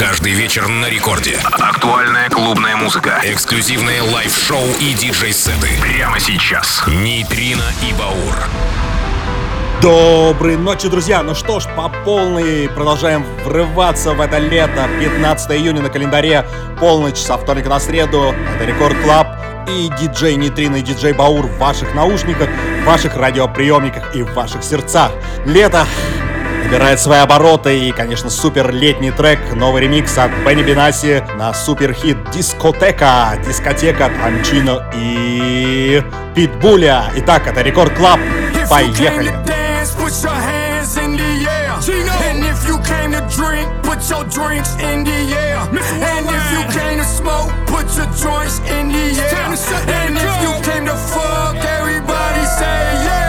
Каждый вечер на рекорде. Актуальная клубная музыка. Эксклюзивные лайв-шоу и диджей-сеты. Прямо сейчас. Нейтрино и Баур. Доброй ночи, друзья! Ну что ж, по полной продолжаем врываться в это лето. 15 июня на календаре, полночь со вторника на среду. Это Рекорд Клаб и диджей Нейтрино и диджей Баур в ваших наушниках, в ваших радиоприемниках и в ваших сердцах. Лето набирает свои обороты и, конечно, супер летний трек, новый ремикс от Бенни Бенаси на суперхит «Дискотека», «Дискотека» Танчино и Питбуля. Итак, это Рекорд Клаб. Поехали! Put your hands in the air. And if you came to drink, put your drinks in the air. And if you came to smoke, put your joints in the air. And if you came to fuck, everybody say yeah.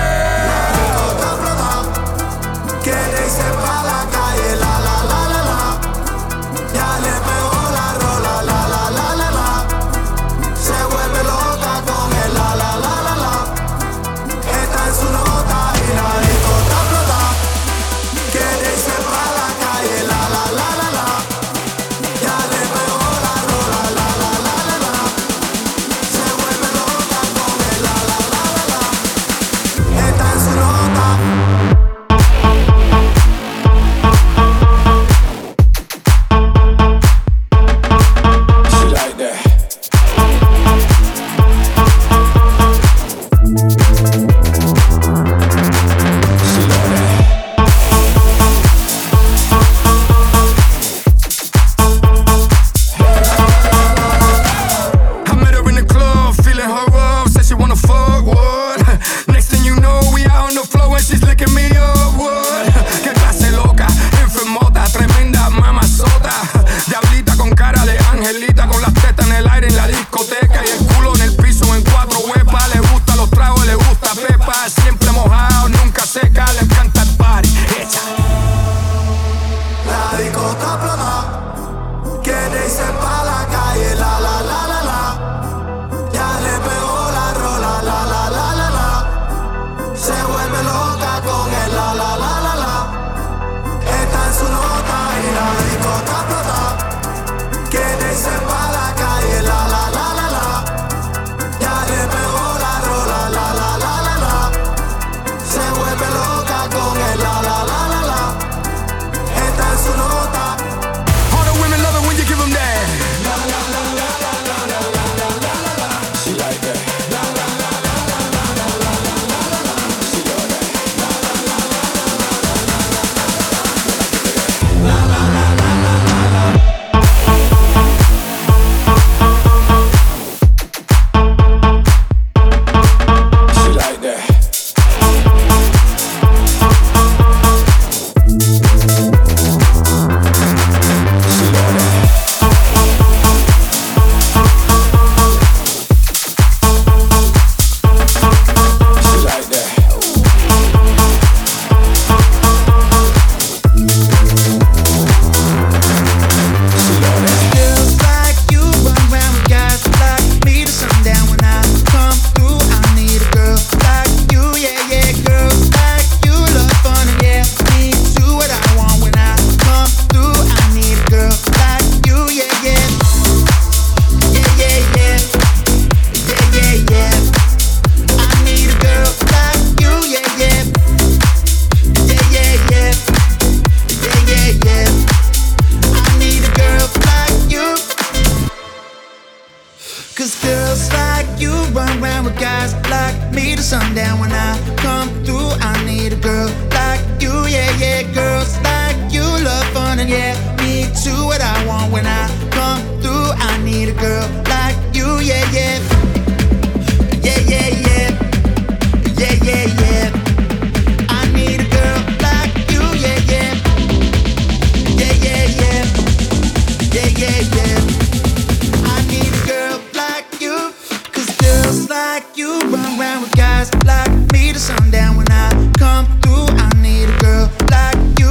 Like me to sundown when I come through. I need a girl like you.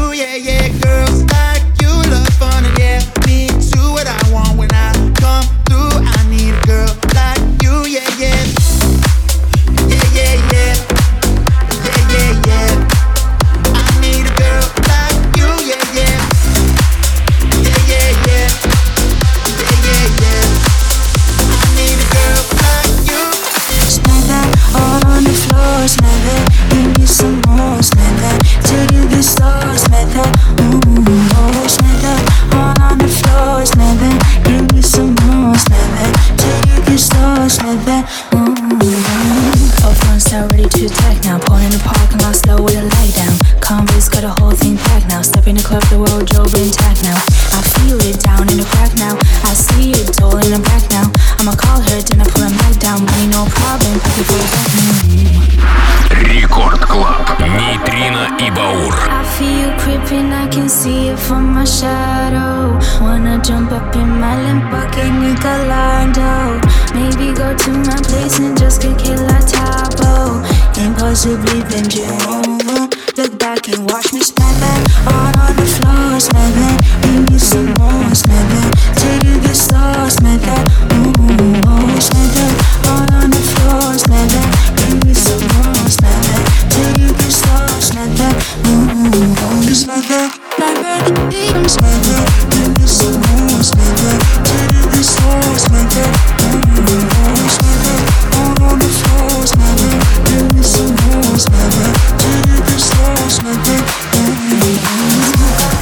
now. Step in the club, the wardrobe intact now. I feel it down in the crack now. I see it all in the back now. I'ma call her, then I pull her back down. Money no problem, I can pull it back now. Рекорд Клаб. Нейтрино и Баур. I feel creeping, I can see it from my shadow. Wanna jump up in my Lamborghini Gallardo. Maybe go to my place and just get killer tapo. Impossibly bend you over. Look back and watch me smack that. All on the floor, smack that. Give me some more, smack that. Take it get slow, smack that. Ooh, oh, smack that. All on the floor, smack that. Give me some more, smack that. Take it get slow, smack that. Ooh, oh, smack that. Like that, even smack that. Give me some more, smack that. Take it get slow, smack that. Ooh, oh, smack that. All on the floor, smack that. Give me some more, smack that. Take it get slow, smack that. Ooh, oh, smack that.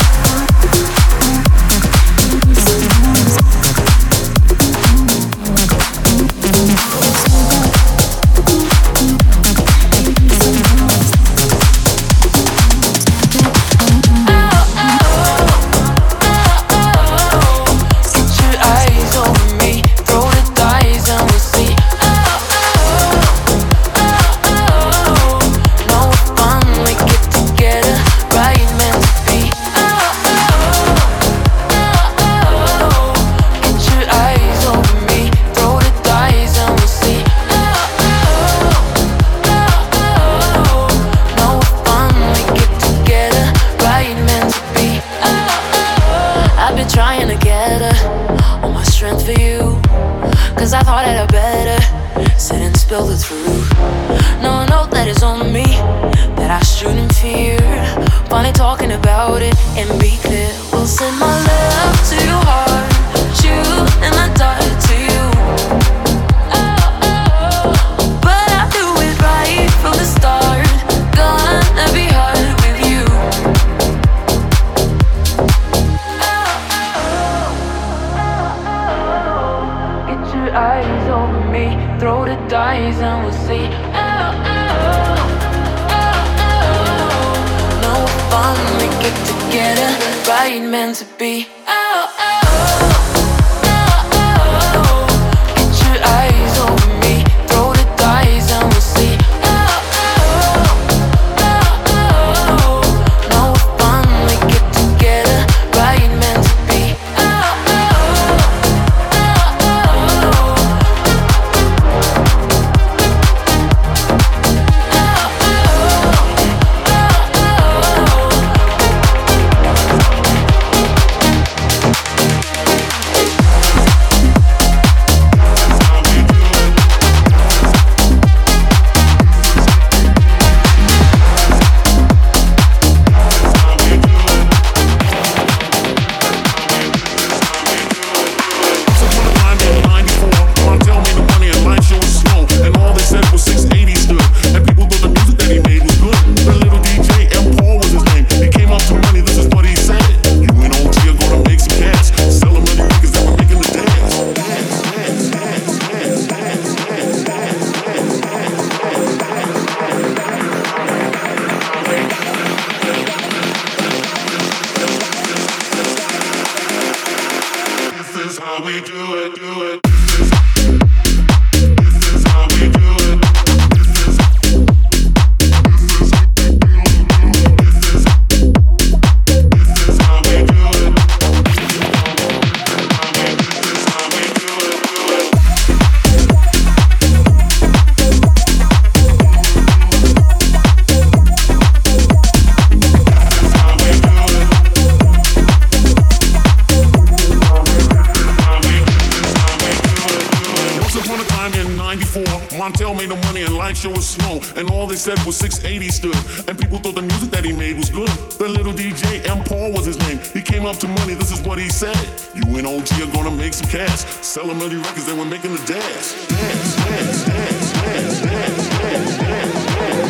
Montel made no money and life sure was slow. And all they said was 680 stood. And people thought the music that he made was good. The little DJ, M. Paul was his name. He came up to money, this is what he said. You and OG are gonna make some cash. Sell a million records, they were making the dance. Dance, dance, dance, dance, dance, dance, dance,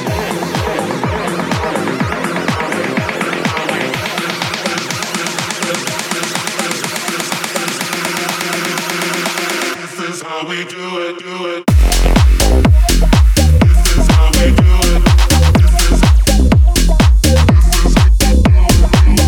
This is how we do it, do it. This is how we do it. This is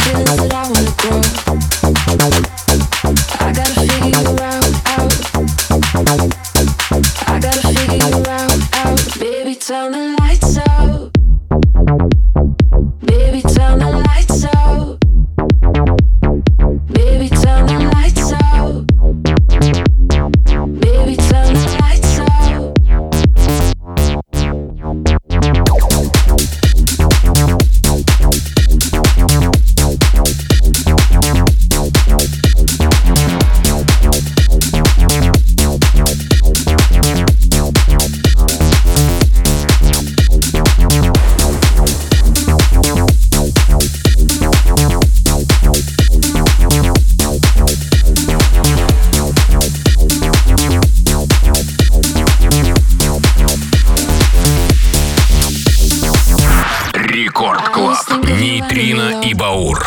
Нейтрино и Баур.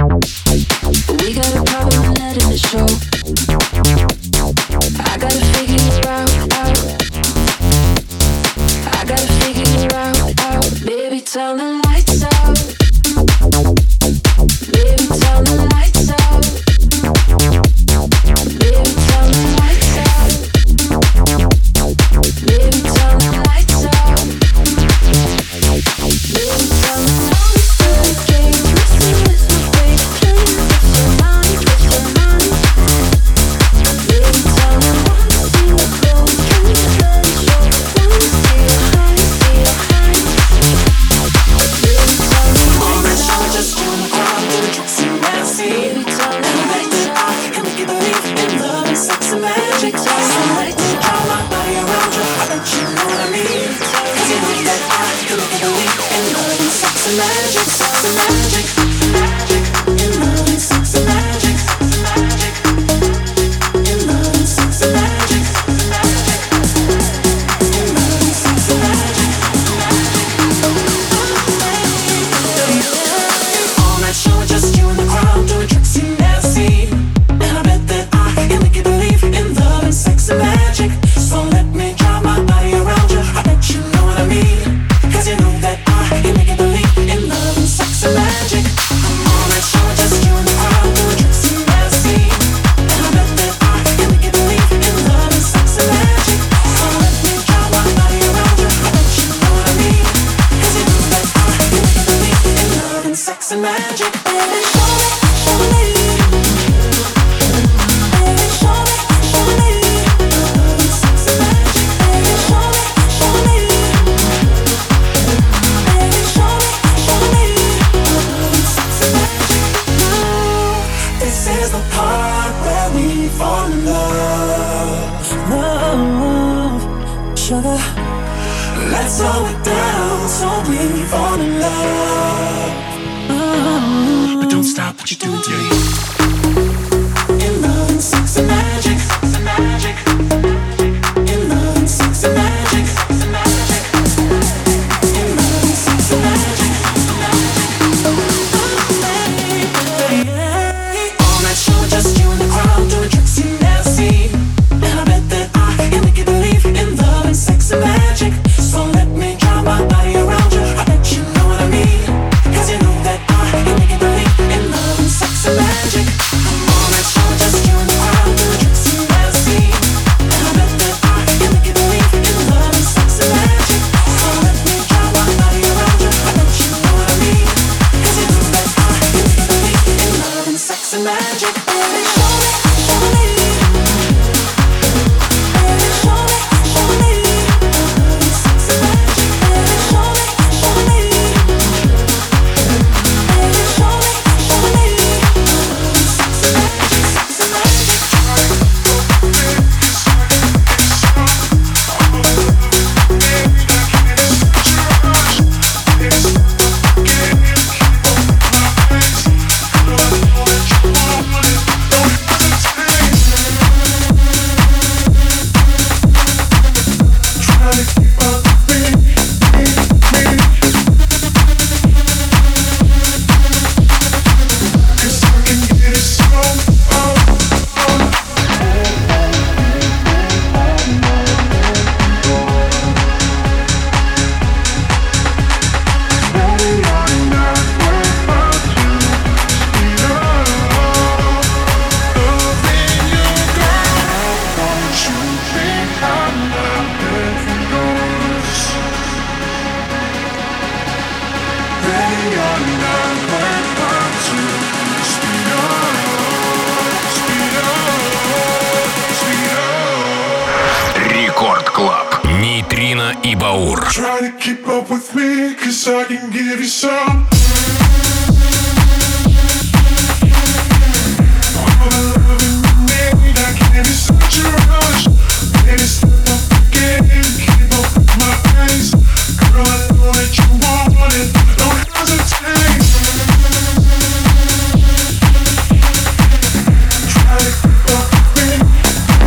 Let's slow it down so we fall in love. But don't stop what you're doing to me. In love and sex and magic, sex and magic. In love and sex and magic, sex and magic. In love and sex and magic, sex and magic. All night show, just you and the crowd doing tricks you never seen. And I bet that I can make you believe in love and sex and magic. So let me drive my body around you. I bet you know what I mean. 'Cause you know that I can make you believe in love and sex and magic. All night show, just you and the crowd doing Баур. Try to keep up with me, 'cause I can give you some. All the loving you need, I can't be such a rush. Baby, step up again, keep up with my eyes. Girl, I know that you want it, don't hesitate. Try to keep up with me.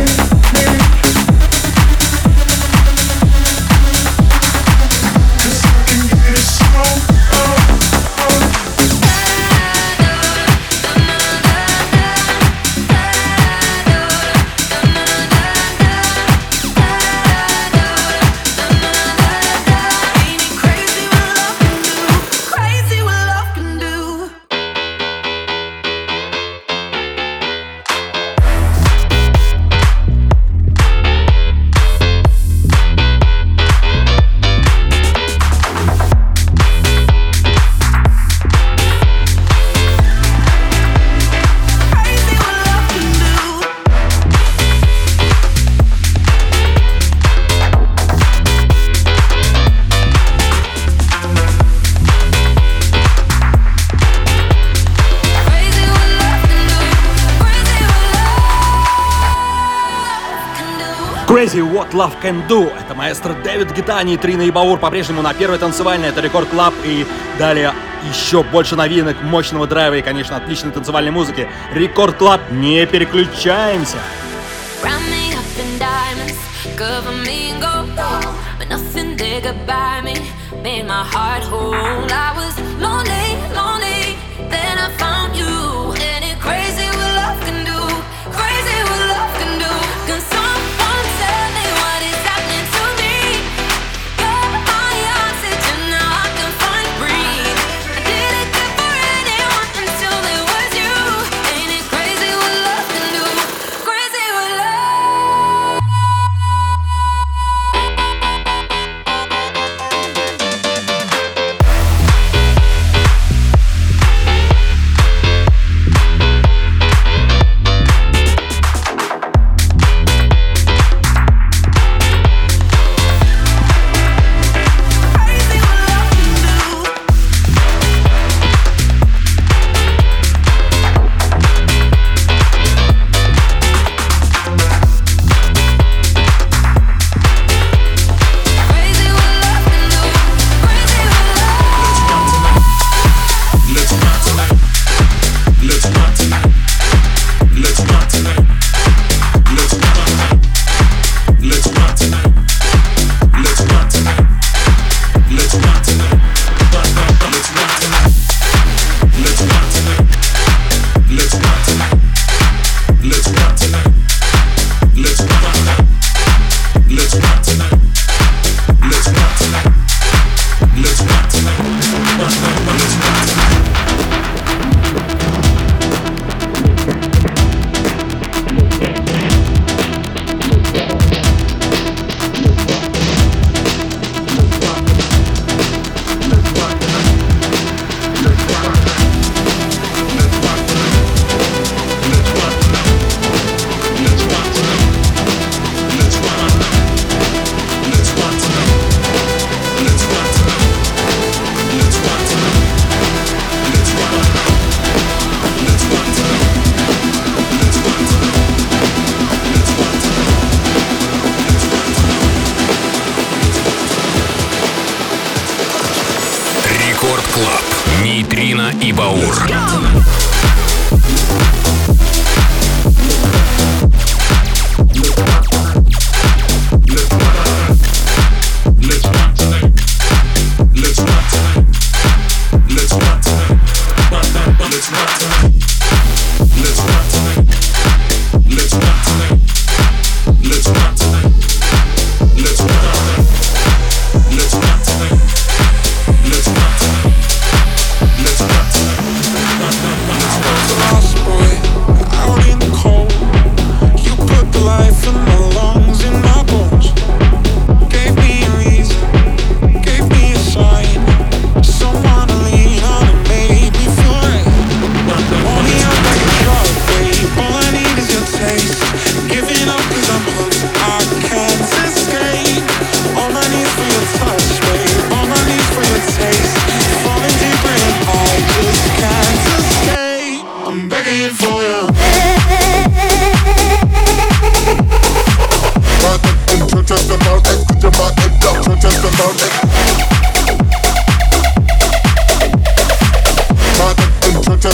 Crazy What Love Can Do. Это маэстро Дэвид Гетта, Нейтрина и Баур по-прежнему на первой танцевальной. Это Рекорд Клаб. И далее еще больше новинок, мощного драйва и, конечно, отличной танцевальной музыки. Рекорд Клаб. Не переключаемся.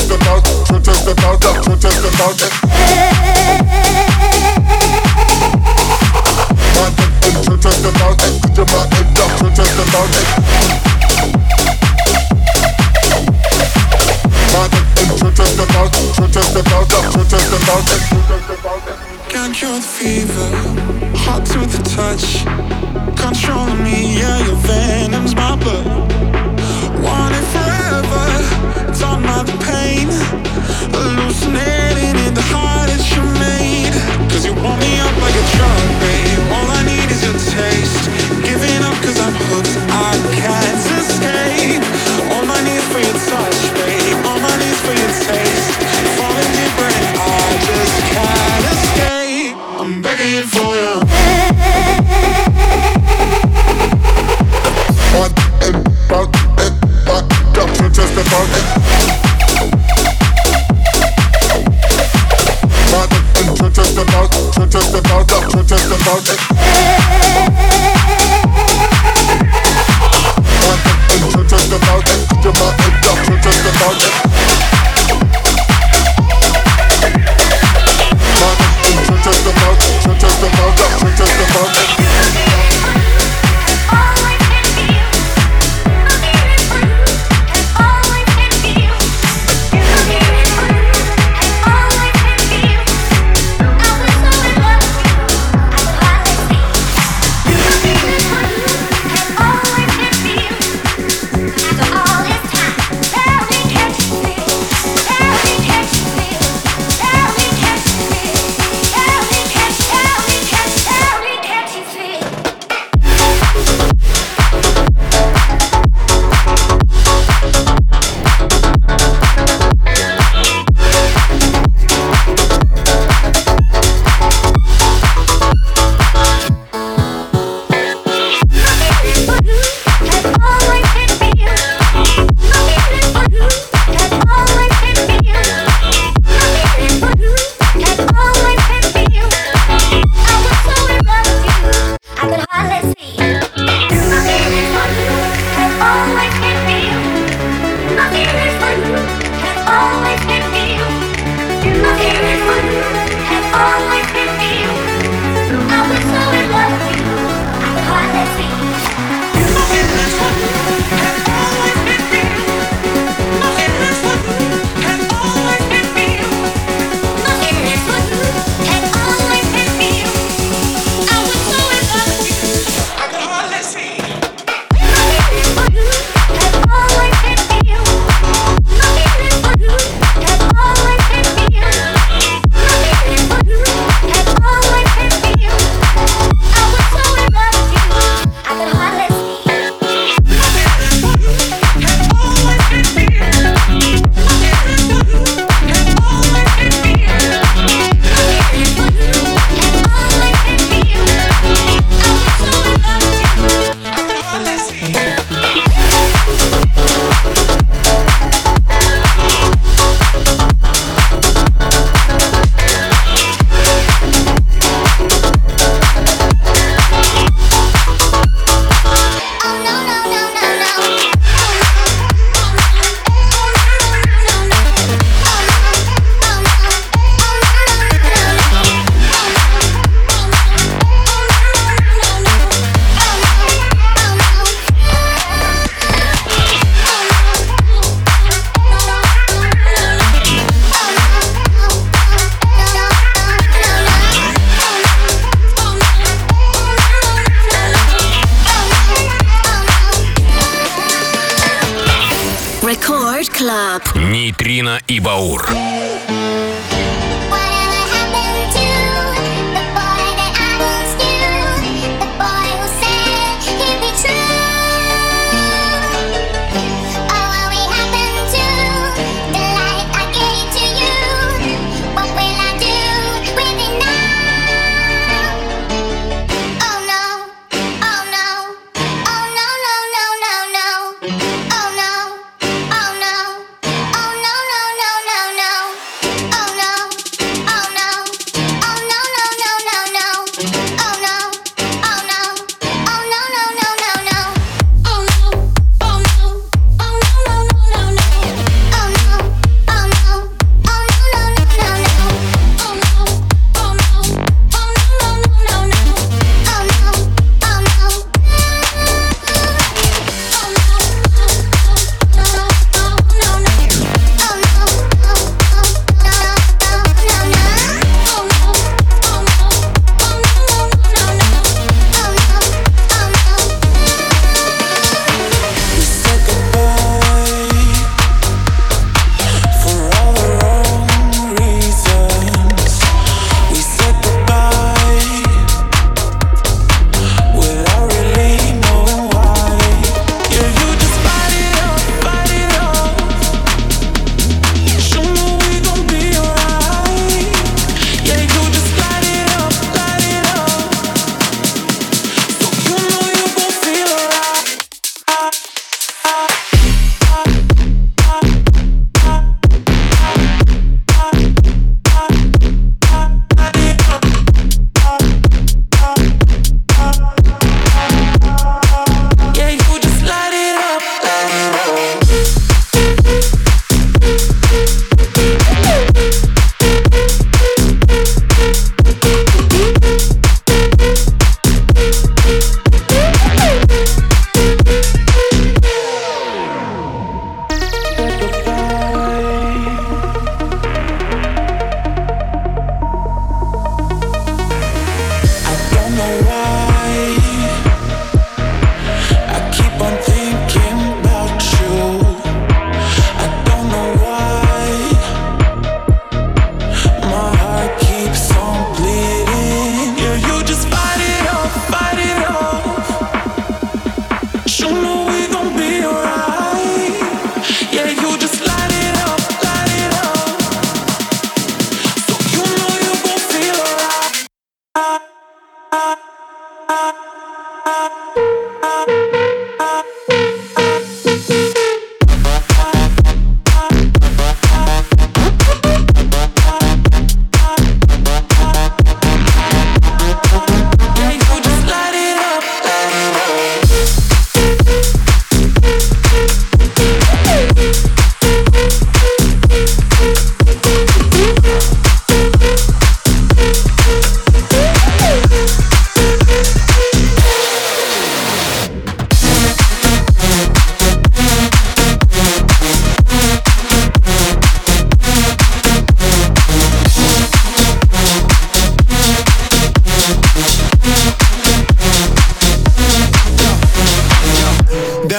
Can't cure the fever, hot to the touch, controlling me, yeah, your venom's my blood. Want it forever, don't mind the pain, hallucinating in the heart that you made. Cause you want me up like a drug, babe, all I need is your taste. Giving up cause I'm hooked, I can't escape. All my need for your touch, babe, all my need for your taste. Falling deeper and I just can't escape. I'm begging for you. Нейтрино и Баур. Oh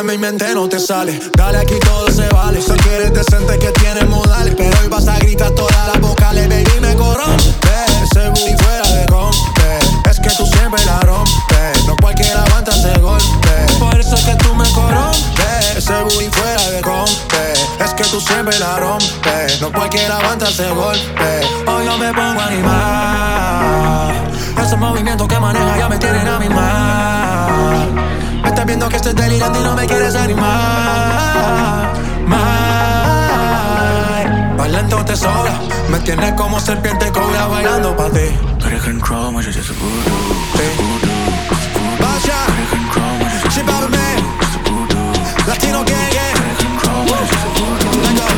mi mente no te sale. Dale, aquí todo se vale. Sé que eres decente, que tienes modales, pero hoy vas a gritar todas las vocales. Baby, me corrompe, ese booty fuera de rompe. Es que tú siempre la rompes, no cualquiera aguanta ese golpe. Por eso es que tú me corrompes, ese booty fuera de rompe. Es que tú siempre la rompes, no cualquiera aguanta ese golpe. Hoy yo me pongo a animar, esos movimientos que maneja ya me tienen a mi mal. Me estás viendo que estoy delirando y no me quieres animar. Bailando te sobra, me tienes como serpiente cobra bailando pa' ti. Vaya, she bout me, Latino gang gang. Let go.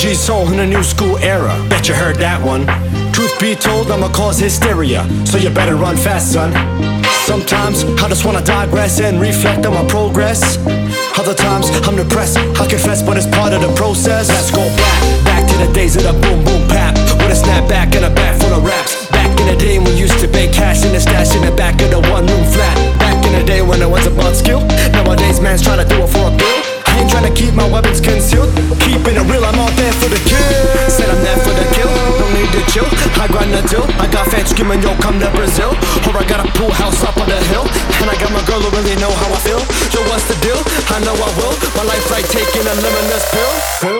G soul in a new school era. Bet you heard that one. Truth be told, I'ma cause hysteria, so you better run fast, son. Sometimes I just wanna digress and reflect on my progress. Other times I'm depressed, I confess, but it's part of the process. Let's go back to the days of the boom boom pap, with a snapback and a bag full of raps. Back in the day when we used to bake cash in the stash in the back of the one room flat. Back in the day when it was about skill. Nowadays man's trying to do it for a bill. I ain't trying to keep my weapons concealed. Keeping it real, I'm out there for the kill. Said I'm there for the kill, don't need to chill. I grind the deal, I got fans screaming, yo, come to Brazil. Or I got a pool house up on the hill, and I got my girl who really know how I feel. Yo, what's the deal? I know I will. My life like taking a limitless pill.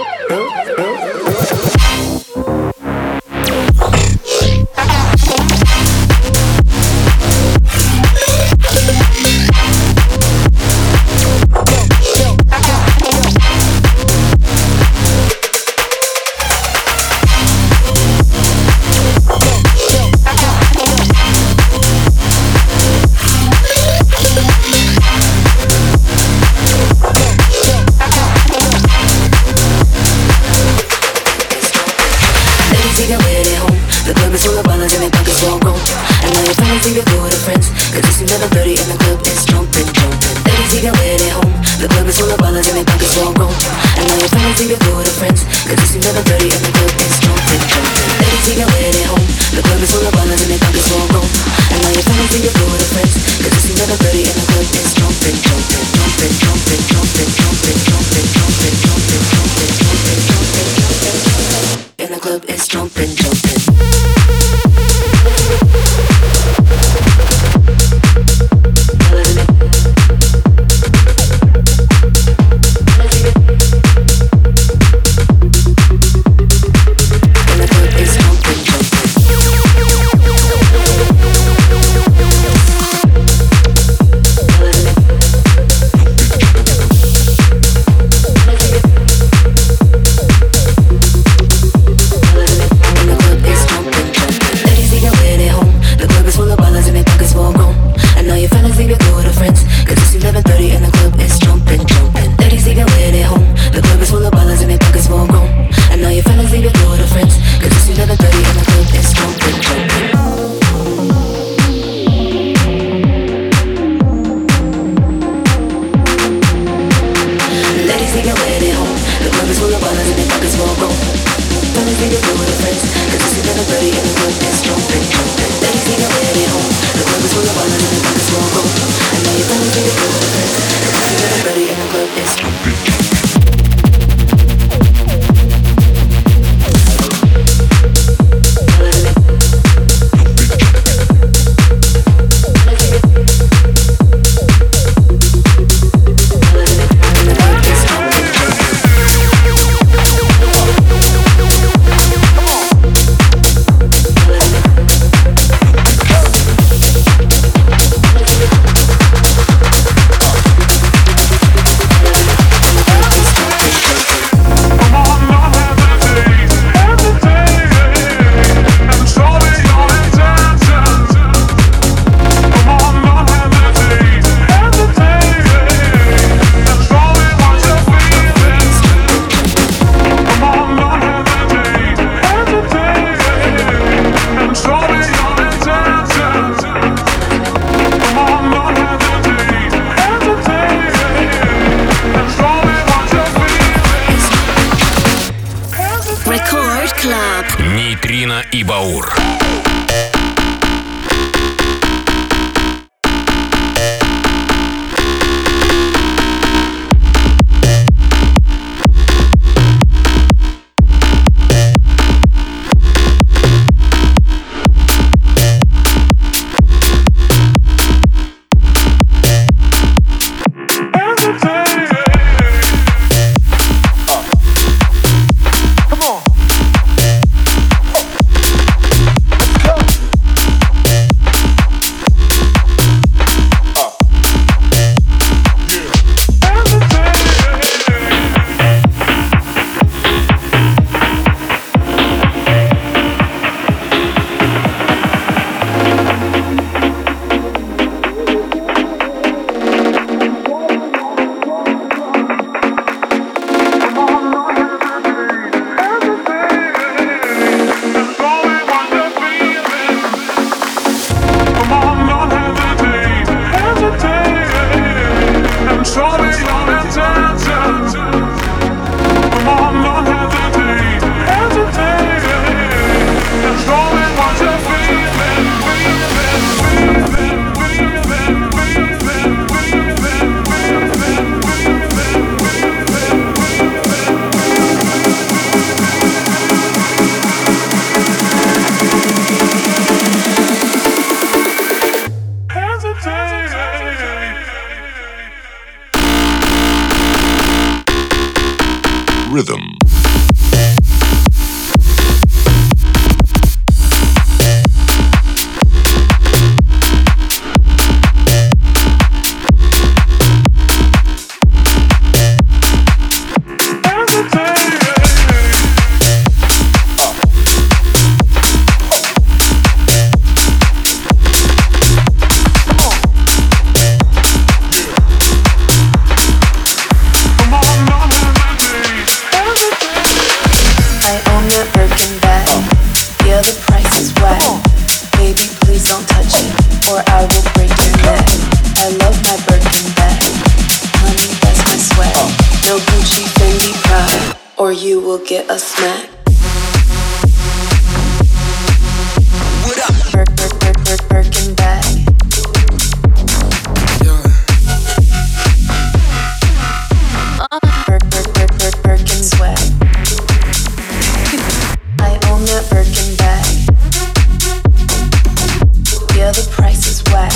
Нейтрино и Баур. rhythm. Get a smack. What up? Birkin bag. Yeah. Birkin swag. I own that Birkin bag. Yeah, the price is whack.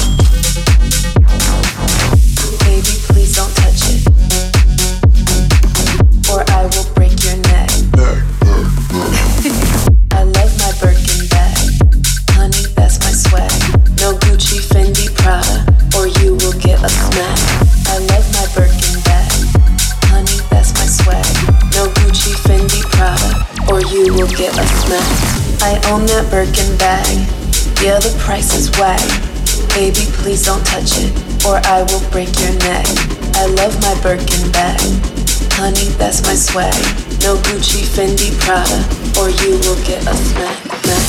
Baby, please don't touch it, or I will break your neck. I love my Birkin bag. Honey, that's my swag. No Gucci, Fendi, Prada, or you will get a smack. I love my Birkin bag. Honey, that's my swag. No Gucci, Fendi, Prada, or you will get a smack. I own that Birkin bag. Yeah, the price is whack. Baby, please don't touch it, or I will break your neck. I love my Birkin bag. Honey, that's my swag. No Gucci, Fendi, Prada, or you will get a smack.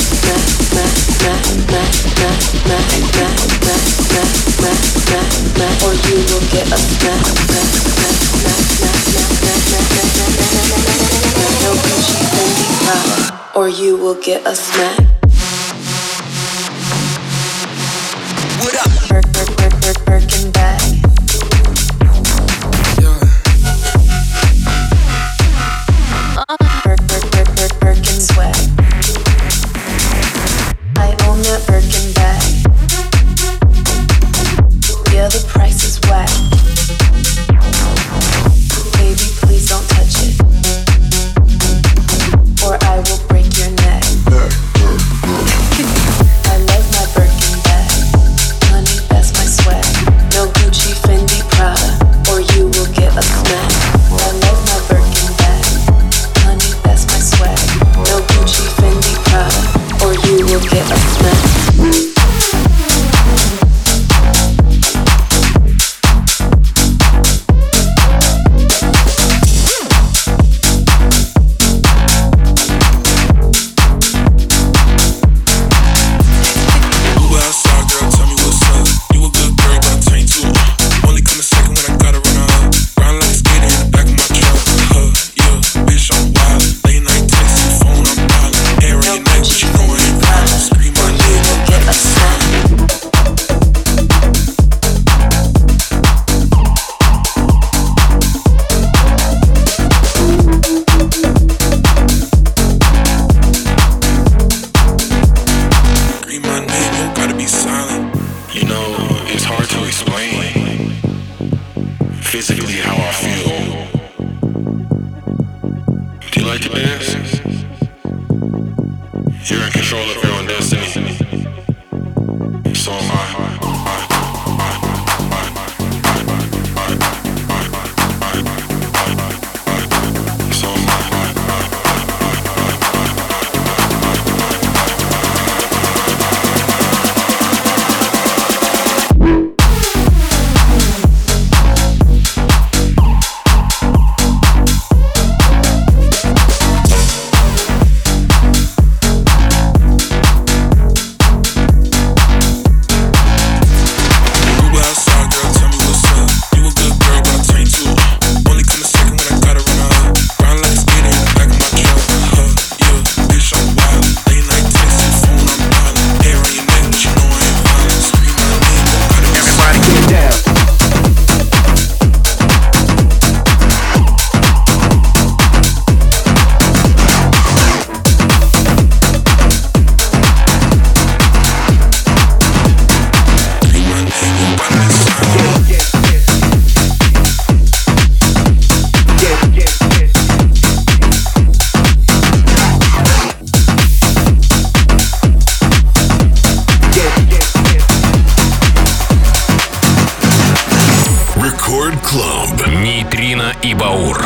Or you will get a smack. No Gucci, Fendi, Prada, or you will get a smack. What up? Birkin bag. Birkin swag. I own that Birkin bag. Yeah, the price is whack. Baby, please don't touch it, or I will break your neck. I love my Birkin bag. Honey, that's my swag. No Gucci, Fendi, Prada, or you will get a smack. I love my Birkin bag. Honey, that's my swag. No Gucci, Fendi, Prada, or you will get a smack. Record Club. Нейтрино и Баур.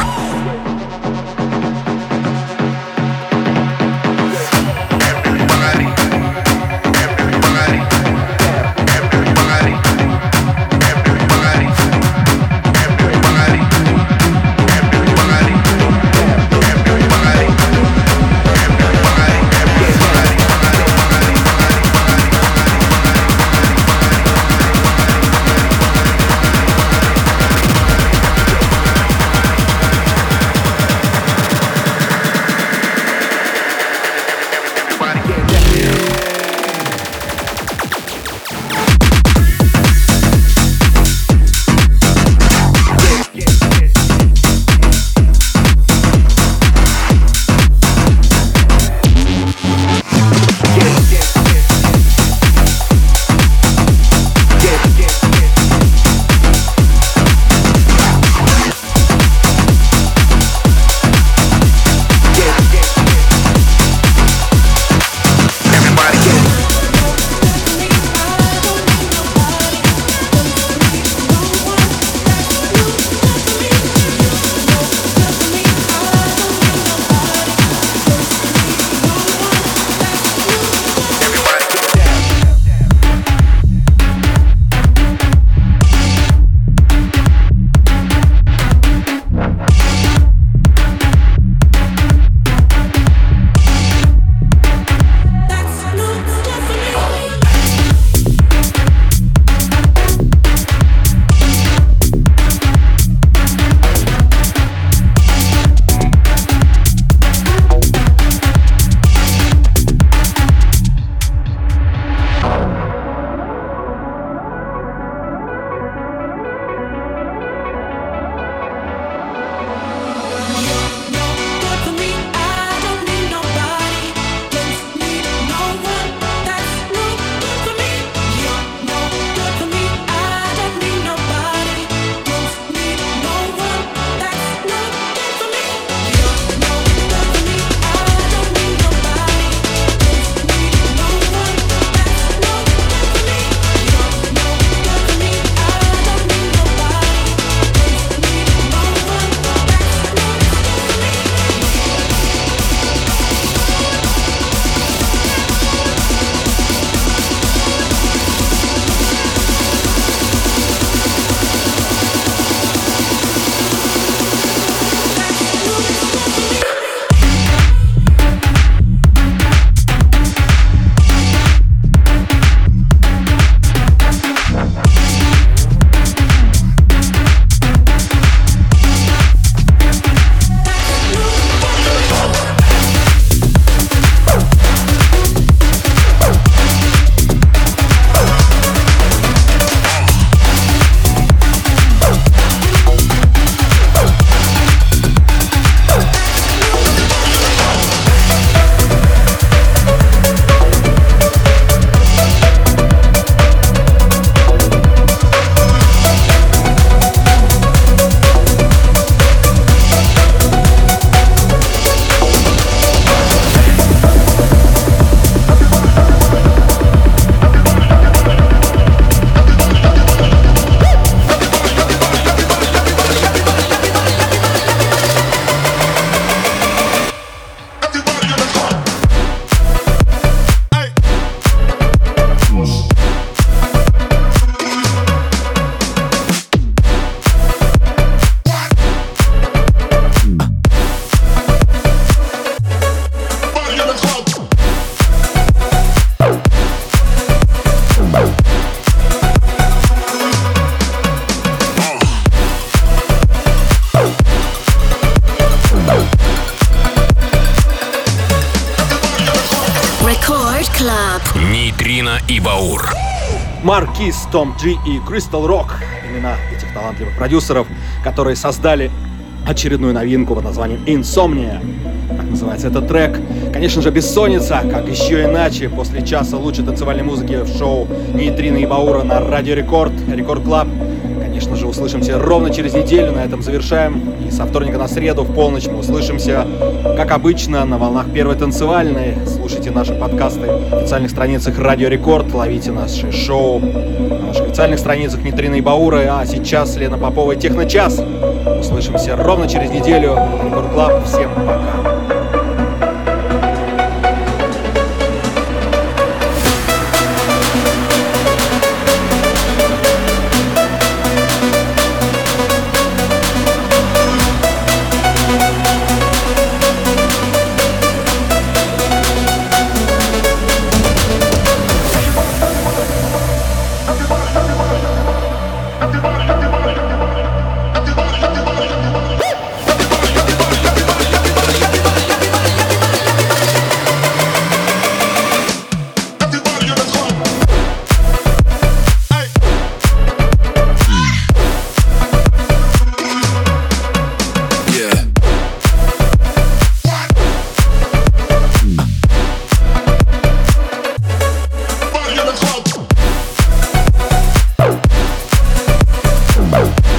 Нейтрино и Баур. Маркиз, Том Джи и Crystal Rock. Имена этих талантливых продюсеров, которые создали очередную новинку под названием Insomnia. Так называется этот трек. Конечно же, бессонница, как еще иначе, после часа лучшей танцевальной музыки в шоу Нейтрино и Баура на Радио Рекорд, Рекорд Клаб. конечно же, услышимся ровно через неделю. На этом завершаем. И со вторника на среду в полночь мы услышимся, как обычно, на волнах Первой танцевальной. Слушайте наши подкасты в официальных страницах Радио Рекорд. Ловите наши шоу на наших официальных страницах Нитрина и Баура. А сейчас Лена Попова и Техночас. Услышимся ровно через неделю. Рекорд Клаб. Всем пока. Bye.